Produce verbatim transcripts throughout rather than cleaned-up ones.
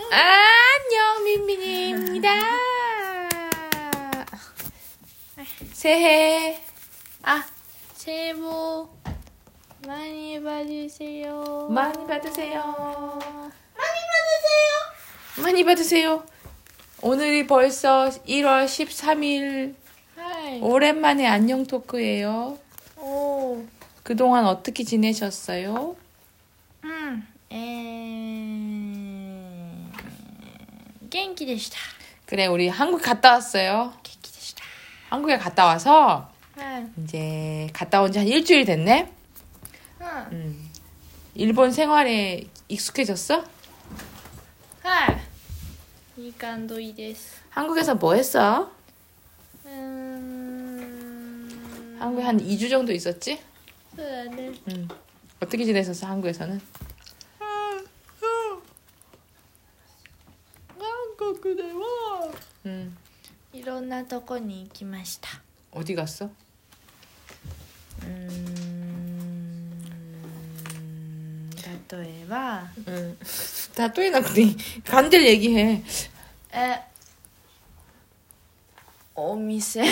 안녕, 민민입니다. 새해, 아, 새해 복 많이 받으세요. 많이 받으세요. 많이 받으세요. 많이 받으세요. 오늘이 벌써 일월 십삼일. 하이. 오랜만에 안녕 토크예요. 오. 그동안 어떻게 지내셨어요? 음. 에. genkiでした. 그래, 우리 한국 갔다 왔어요. genkiでした. 한국에 갔다 와서 하이. 이제 갔다 온 지 한 일주일 됐네. 응. 음. 일본 생활에 익숙해졌어? 하이. いい感じです. 한국에서 뭐 했어? 음. 한국에 한 이 주 정도 있었지? 네. 음. 어떻게 지냈었어, 한국에서는? 한국에 와. 음. いろんなとこに行きました. 어디 갔어? 음. 例えば 음. 다 또 해나 그래. 간절 얘기해. えお店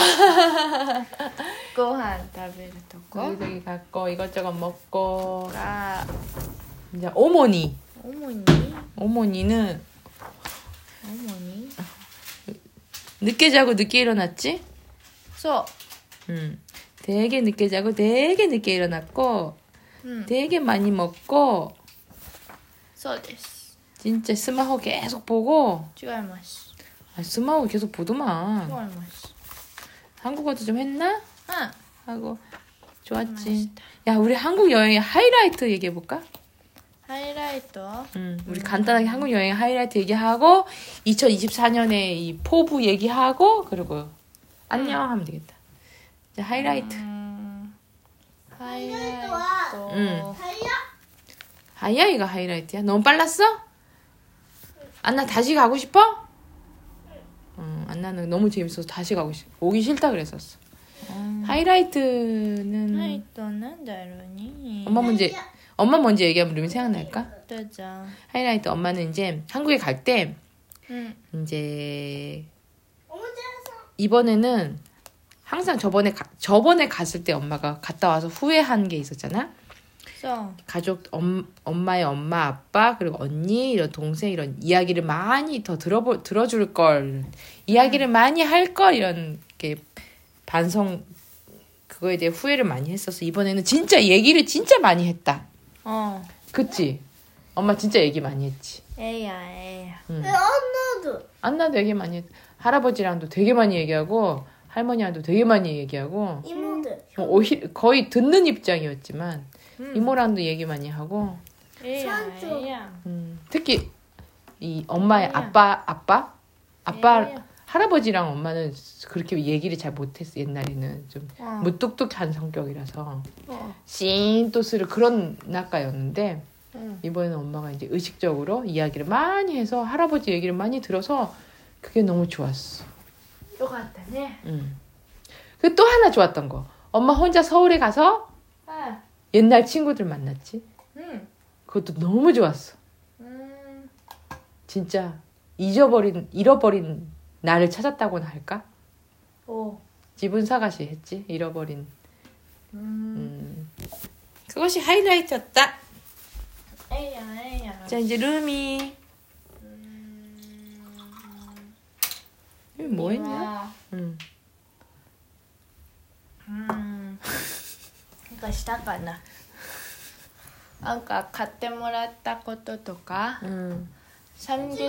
ご飯食べるとこ 여기저기 갔고 이것저것 먹고. が 이제 어머니. 主に 어머니는 主に 늦게 자고 늦게 일어났지? そ 음. 되게 늦게 자고 되게 늦게 일어났고 う、うん、 되게 많이 먹고 そうです。 진짜 스마호 계속 보고. 違います。 아, 스마호 계속 違い 보더만. ます。 한국어도 좀 했나? うん。 하고 좋았지. 맛있다. 야, 우리 한국 여행의 하이라이트 얘기해 볼까? ハイライト 음, 우리 간단하게 한국 여행의 하이라이트 얘기하고 이천이십사년에 이 포부 얘기하고 그리고 안녕 하면 되겠다. 이제 하이라이트. うーんハイライト 응. 하이아이가 하이라이트야? 너무 빨랐어? 안나 다시 가고 싶어? 응, 안나는 너무 재밌어서 다시 가고 싶어. 오기 싫다 그랬었어. うん 하이라이트는 ハイトなんだろうね 엄마 먼저 엄마 먼저 얘기하면 루미 생각날까? どうぞ 하이라이트 엄마는 이제 한국에 갈 때 うん 이제 이번에는 항상 저번에 가, 저번에 갔을 때 엄마가 갔다 와서 후회한 게 있었잖아. そう 가족 엄, 엄마의 엄마 아빠 그리고 언니 이런 동생 이런 이야기를 많이 더 들어보 들어줄 걸 이야기를 많이 할 걸 이런 게 반성 그거에 대해 후회를 많이 했었어. 이번에는 진짜 얘기를 진짜 많이 했다. うん 그치? 엄마 진짜 얘기 많이 했지. ええやんええやん 응. 안나도 안나도 얘기 많이 했. 할아버지랑도 되게 많이 얘기하고 할머니랑도 되게 많이 얘기하고 이모들 뭐 오히, 거의 듣는 입장이었지만 음. 이모랑도 얘기 많이 하고 ええやんええやん 음, 특히 이 엄마의 아니야. 아빠 아빠 아빠 에이야. 할아버지랑 엄마는 그렇게 얘기를 잘 못했어. 옛날에는 좀 어. 무뚝뚝한 성격이라서 어. 씬또스를 그런 낙가였는데 응. 이번에는 엄마가 이제 의식적으로 이야기를 많이 해서 할아버지 얘기를 많이 들어서 그게 너무 좋았어. よかったね 음. 그 또 하나 좋았던 거. 엄마 혼자 서울에 가서 はい 옛날 친구들 만났지. うん 그것도 너무 좋았어. うーん 진짜 잊어버린 잃어버린 나를 찾았다고나 할까? お 지분 사가시 했지. 잃어버린. うーん 음. 그것이 하이라이트였다. ええやんええやん 자 이제 루미. うーん 루미 뭐 했냐? は 음. うーんなんかしたかななんか買ってもらったこととか 음. 삼계탕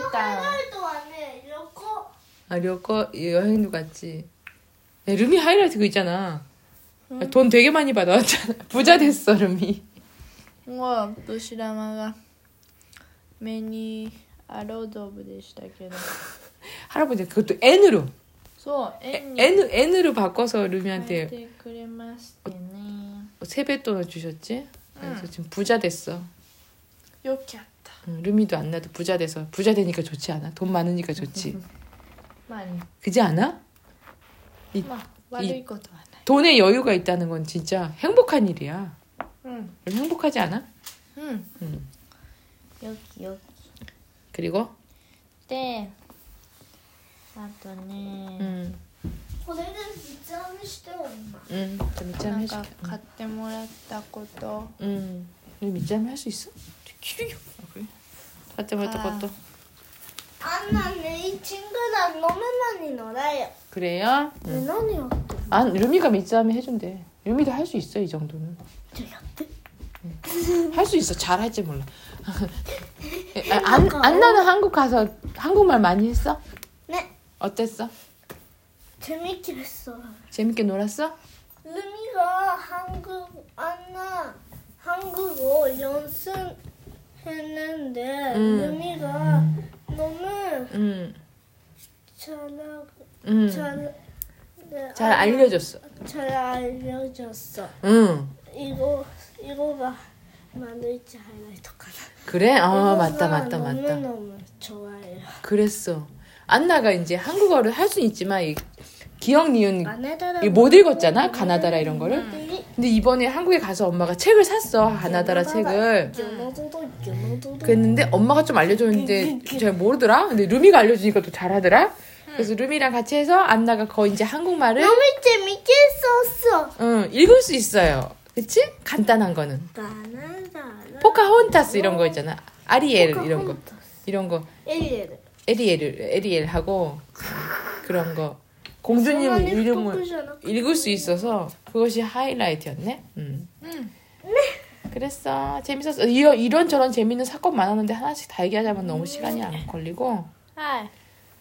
아旅行 여행도 갔지. 야, 루미 하이라이트 그거 있잖아. 응? 돈 되게 많이 받아왔잖아. 부자 됐어 루미. もう年玉が目にアロードブでしたけど 할아버지 그것도 N으로 そう円に N N으로 바꿔서 変え 루미한테 てくれましてね 세뱃돈을 주셨지. 그래서 응. 지금 부자 됐어. よきゃった 응, 루미도 안 나도 부자 돼서 부자 되니까 좋지 않아? 돈 많으니까 좋지. まあ、 그지 않아? 이, まあ悪いことはない 돈에 여유가 있다는 건 진짜 행복한 일이야. うん 행복하지 않아? うん 응. よきよき 그리고 てあとね、 응. これで三つ編みしてる今 응. 좀 な 밑잠 ん 해줄게. か買ってもらったこと 응. 우리 밑잠 할 수 있어? 길이요. 아, 그래? 갖다 버렸다 것도. 안나 내 친구랑 너무 많이 놀아요. 그래요? 왜 응. 너니요? 아, 루미가 밑잠 해준대. 루미도 할 수 있어 이 정도는. 할 수 있어. 잘 할지 몰라. 아, 안, 안나는 한국 가서 한국말 많이 했어? 네. 어땠어? 재밌게 했어. 재밌게 놀았어? 루미가 한국 안나 한국어 연습했는데 음. 루미가 너무 응. 잘하고 응. 잘, 네, 잘 알려줬어. 잘 알려줬어. 응. 이거 이거가 만들지 하이라이트까나. 그래? 아, 이거가 맞다, 맞다, 맞다. 너무너무 좋아해요. 그랬어. 안나가 이제 한국어를 할 수는 있지만 이 기억 니은 가나다라 이못 읽었잖아. 가나다라 이런 거를. 근데 이번에 한국에 가서 엄마가 책을 샀어. 가나다라 책을. 그랬는데 엄마가 좀 알려줬는데 잘 모르더라. 근데 루미가 알려주니까 또 잘하더라. 그래서 루미랑 같이 해서 안나가 거의 이제 한국말을 너무 재밌게 썼어. 응, 읽을 수 있어요. 그치? 간단한 거는. 가나다라 포카혼타스 이런 거 있잖아. 아리엘 이런 거. 이런 거. 에리에르. 에리엘, 에리엘 하고 그런 거. 공주님 이름을 읽을 수 있어서 그것이 하이라이트였네. 음. 응. 그랬어. 재밌었어. 이런, 이런 저런 재밌는 사건 많았는데 하나씩 다 얘기하자면 너무 시간이 안 걸리고. 하이.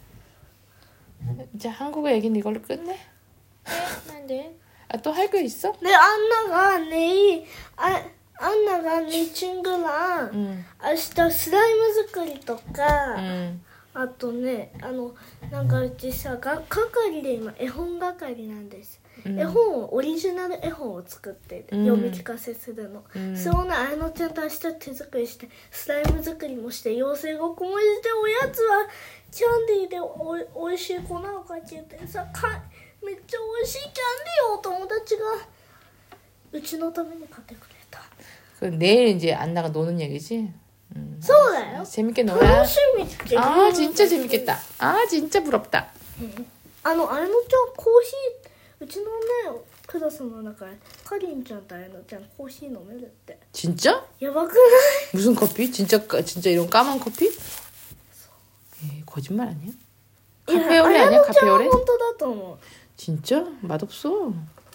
이제 한국어 얘기는 이걸로 끝내? 난데. 아, 또 할 거 있어? 네, 안나가 내일 아, 안나가 내 친구랑 응. 明日スライム作りとか、 응. あとね、あのなんかうちさが係で今絵本係なんです、 응. 絵本をオリジナル絵本を作ってうん読み聞かせするの、 うんそれをねあやのちゃんと明日手作りしてスライム作りもして妖精ごっこもしておやつはキャンディーでおおいしい粉をかけてさかめっちゃおいしいキャンディーをお友達がうちのために買ってくれた。 그 내일 이제 안나가 노는 얘기지? 응. そうだよ。 재밌게 놀아. 楽しみって 아, 진짜 재밌겠다. 아, 진짜 부럽다. あのあやのちゃんコーヒーうちのねクラスの中でかりんちゃんとあやのちゃんコーヒー飲めるって 진짜? やばくない 무슨 커피? 진짜 까- 진짜 이런 까만 커피? 에이, 거짓말 아니야? いや 카페오레 あや 아니야? のちゃんは 카페오레? 本当だと思う 진짜? 맛없어.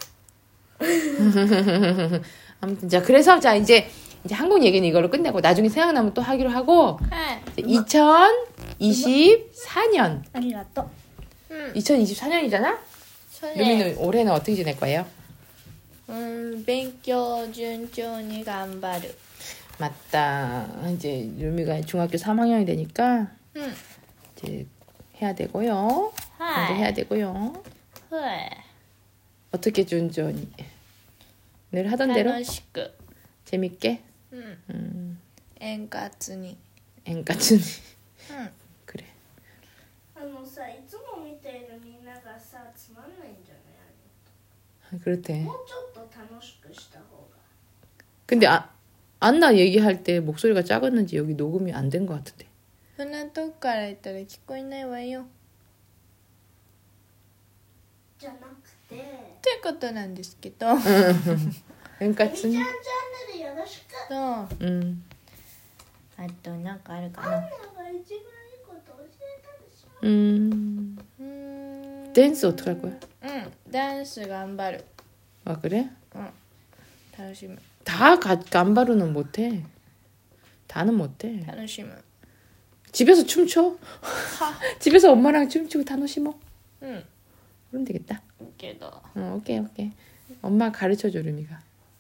아무튼 자 그래서 자 이제 이제 한국 얘기는 이걸로 끝내고 나중에 생각나면 또 하기로 하고 はい 이천이십사 년 ありがとう 이천이십사 년이잖아? それ 루미는 올해는 어떻게 지낼 거예요? うん勉強順調に頑張る 맞다. 이제 루미가 중학교 삼 학년이 되니까 うん 이제 해야 되고요. 하 공부 이 해야 되고요. はい 어떻게 준전히 늘 하던 대로 楽しく 재밌게 うん 음, 円滑に 앵까츠니 うん 그래. あのさいつも見ているみんながさつまんないんじゃない 그렇대. もうちょっと楽しくした方が 근데 아, 안나 얘기할 때 목소리가 작았는지 여기 녹음이 안 된 것 같은데. そんなとこから言ったら聞こえないわよじゃなくてということなんですけど 앵까츠니. チャンネルよろしくそうあ 음, となんかあるかな 음, うーん 댄스 어떻게 할 거야? うんダンス頑張る 아 그래? 楽しむ 다 가, 간바루는 못해. 다는 못해. 楽しむ 집에서 춤춰. 집에서 엄마랑 춤추고 다노시모. うん 그럼 되겠다. けど 어, 오케이 오케이. 엄마 가르쳐줘 루미가.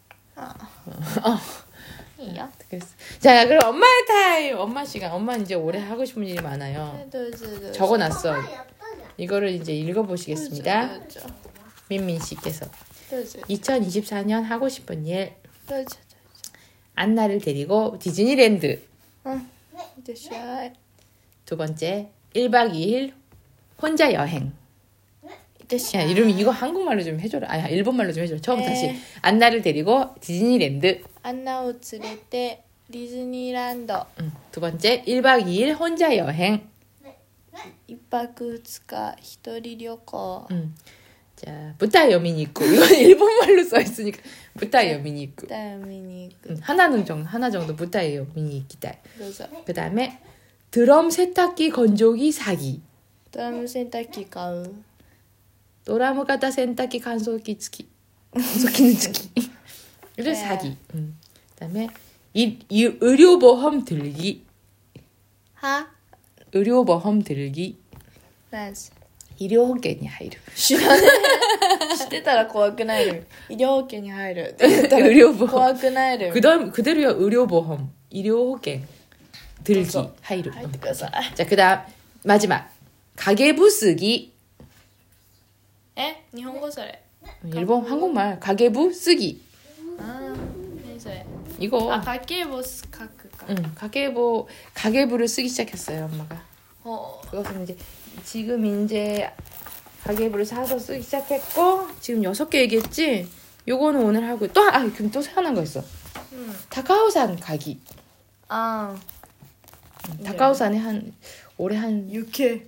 いいよ 그랬어. 자 그럼 엄마의 타임. 엄마 시간. 엄마 이제 올해 하고 싶은 일이 많아요. どうぞどうぞ 적어놨어. 이거를 이제 읽어보시겠습니다. どうぞ 민민 씨께서 どうぞ 이천이십사 년 하고 싶은 일. どうぞ 안나를 데리고 디즈니랜드. うんいってらっしゃい 두 번째 일 박 이 일 혼자 여행. いってらっしゃ 야 い 이름 이거 한국말로 좀 해줘라. 아야 일본말로 좀 해줘라. 처음 에. 다시. 안나를 데리고 디즈니랜드. アンナを連れてディズニーランド 응. 두 번째 일 박 이 일 혼자 여행. 一泊二日一人旅行 음. 자, 부타이어 미니쿠. 이건 일본말로 써 있으니까 부타이어 미니쿠. だよ見に行く 음, 하나는 정도, 하나 정도 부타이어 미니키다. どうぞ 그다음에 드럼 세탁기 건조기 사기. ドラム洗濯機買う 도라무 가다 세탁기 간소기付き. 간소기는付き. 이를 네. 사기. 음. 그다음에 이, 이 의료보험 들기. は 의료보험 들기. なんす医療保険に入る。 知らねえ知ってたら怖くないる医療保険に入るって言ったら 의료보험. 怖くないる 그다음 그대로야 의료보험. 의료保険 들기 그래서 入る. 入ってください 자, 그다음 마지막 가계부 쓰기. え日本語それ 일본 한국말 가계부 쓰기. あー何それ 이거 あ家計簿書くか 응, 가계부 가계부를 쓰기 시작했어요, 엄마가. ほ 그것은 이제 지금 이제 가계부를 사서 쓰기 시작했고 지금 여섯 개 얘기했지. 요거는 오늘 하고 또 아, 그럼 또 하나 거 있어. ううん 다카오산 가기. あ 네. 다카오산에 한 올해 한 あ雪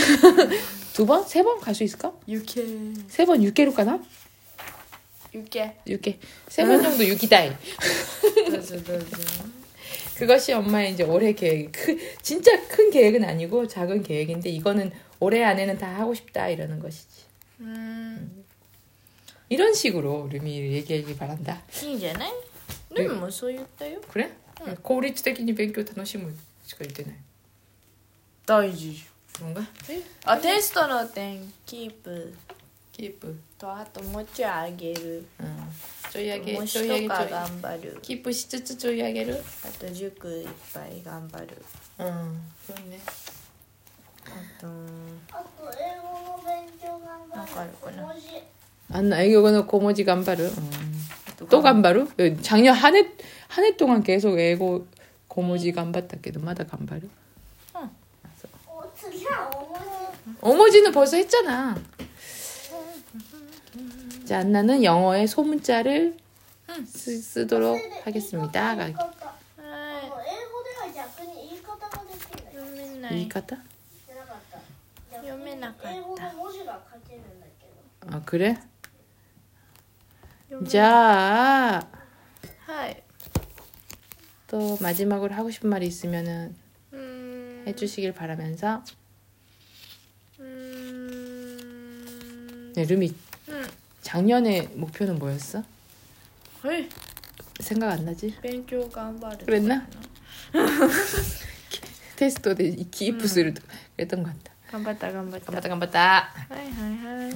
두 번? 세 번 갈 수 있을까? 雪 세 번 육 개로 가나? 雪 육 개. 세 번 정도 육이다이. どうぞどうぞ 그것이 엄마의 이제 올해 계획. 크, 진짜 큰 계획은 아니고 작은 계획인데 이거는 올해 안에는 다 하고 싶다 이러는 것이지. うーん 이런 식으로 루미 얘기하기 바란다. いいんじゃないルミもそう言ったよ 그래? 응. 고리치적인勉強楽しむしか言ってない. 大事 그런가? あテストの点キープ 키프. とあともうちょいあげる 응. 조이하게 模試 조이하게 とか 조이. 頑張る 키프しつつ 조이하게를. あと塾いっぱい頑張る 응. 그렇네. あとあと英語の勉強頑張るわかるかな文字 안나 이거는 고모지 간바르. 응. 또 간바루? 작년 한 해 한 해 동안 계속 애고 고모지 간봤다께도 마다 간바루. お次はお文字 어머지는 벌써 했잖아. 자, 안나는 영어의 소문자를 쓰, 쓰도록 하겠습니다. 言い方はあの英語では逆に言い方ができないい読めない 이카타? じゃなかった読めなかった英語の文字が書けるんだけど 아, 그래? 読め 자, はい 또 마지막으로 하고 싶은 말이 있으면은 うーん 해주시길 바라면서. うーん 네, 루미, うん 작년에 목표는 뭐였어? はい 생각 안 나지? 勉強頑張る 그랬나? 테스트에 기입부 쓰를 그랬던 것 같다. 頑張った頑張った 간봤다, 간봤다. はいはいはい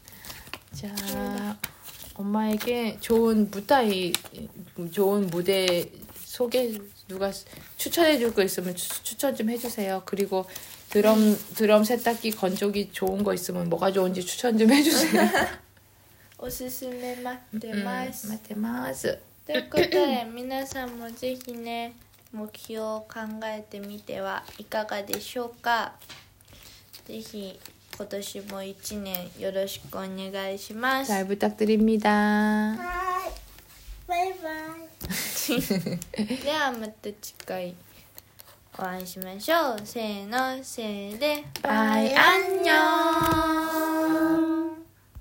자, 엄마에게 좋은 무타이, 좋은 무대 소개 누가 추천해줄 거 있으면 추, 추천 좀 해주세요. 그리고 드럼 드럼 세탁기 건조기 좋은 거 있으면 뭐가 좋은지 추천 좀 해주세요. おすすめ待って 음, ます 마테마스. ということで皆さんもぜひね目標を考えてみてはいかがでしょうか。ぜひ今年も一年よろしくお願いします。 잘 부탁드립니다. はーいバイバイではまた次回お会いしましょう。せーのせーで 바이 안녕.